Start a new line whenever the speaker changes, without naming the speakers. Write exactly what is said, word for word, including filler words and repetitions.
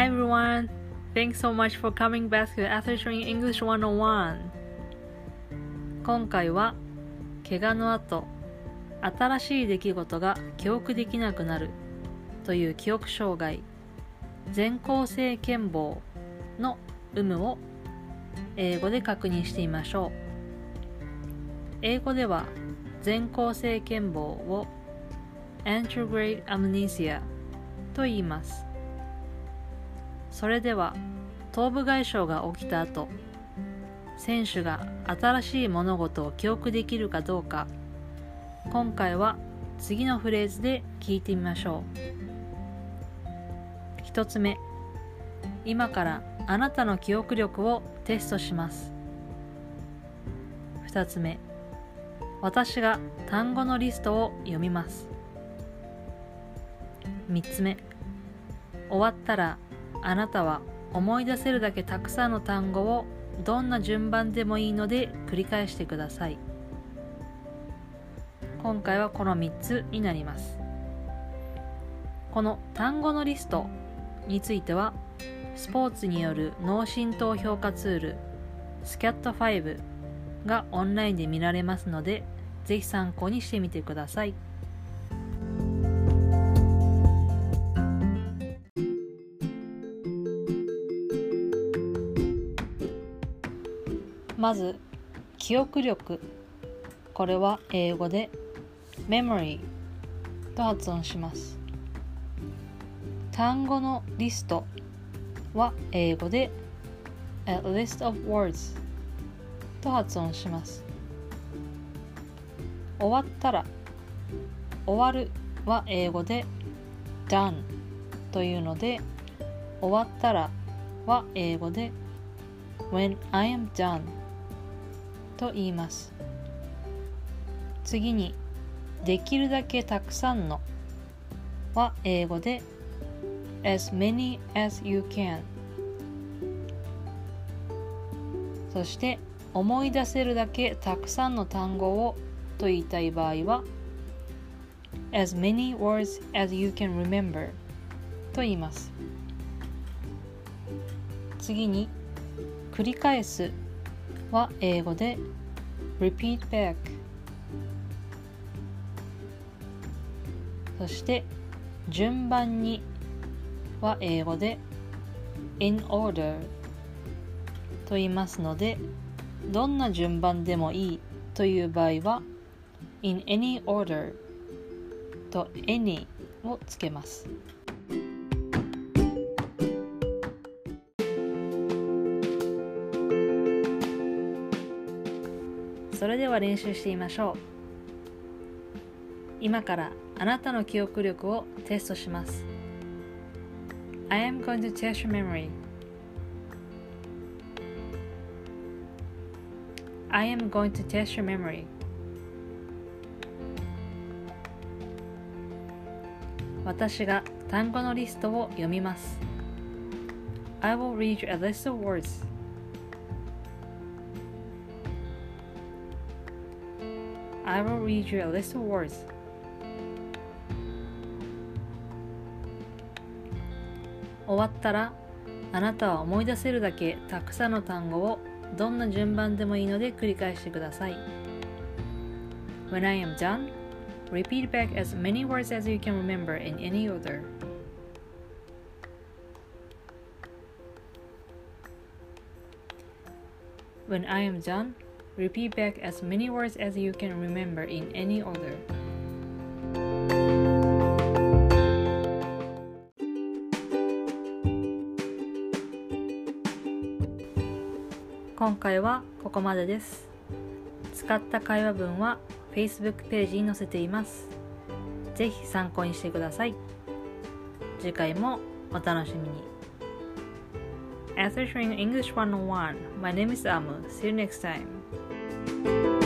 Hi everyone! Thanks so much for coming back to Athering English ワンオーワン. 今回は怪我の後、新しい出来事が記憶できなくなるという記憶障害、前後性健忘の有無を英語で確認してみましょう。英語では前後性健忘を Anterograde Amnesia と言います。それでは頭部外傷が起きた後、選手が新しい物事を記憶できるかどうか、今回は次のフレーズで聞いてみましょう。一つ目、今からあなたの記憶力をテストします。二つ目、私が単語のリストを読みます。三つ目、終わったらあなたは思い出せるだけたくさんの単語をどんな順番でもいいので繰り返してください。今回はこのみっつになります。この単語のリストについては、スポーツによる脳震盪評価ツール スキャットファイブ がオンラインで見られますので、ぜひ参考にしてみてください。まず、記憶力。これは英語で memory と発音します。単語のリストは英語で a list of words と発音します。終わったら、終わるは英語で done というので、終わったらは英語で when I am doneと言います。次に、できるだけたくさんのは英語で as many as you can。 そして、思い出せるだけたくさんの単語をと言いたい場合は as many words as you can remember と言います。次に、繰り返すは英語で repeat back。 そして順番には英語で in order と言いますので、どんな順番でもいいという場合は in any order と any をつけます。それでは練習してみましょう。今からあなたの記憶力をテストします。I am going to test your memory. I am going to test your memory. 私が単語のリストを読みます。I will read you a list of words.I will read you a list of words. 終わったら、あなたは思い出せるだけたくさんの単語をどんな順番でもいいので繰り返してください。When I am done, repeat back as many words as you can remember in any order. When I am done,Repeat back as many words as you can remember in any order. 今回はここまでです。使った会話文は Facebook ページに載せています。ぜひ参考にしてください。次回もお楽しみに。Athering English ワンオーワン. My name is Amu. See you next time.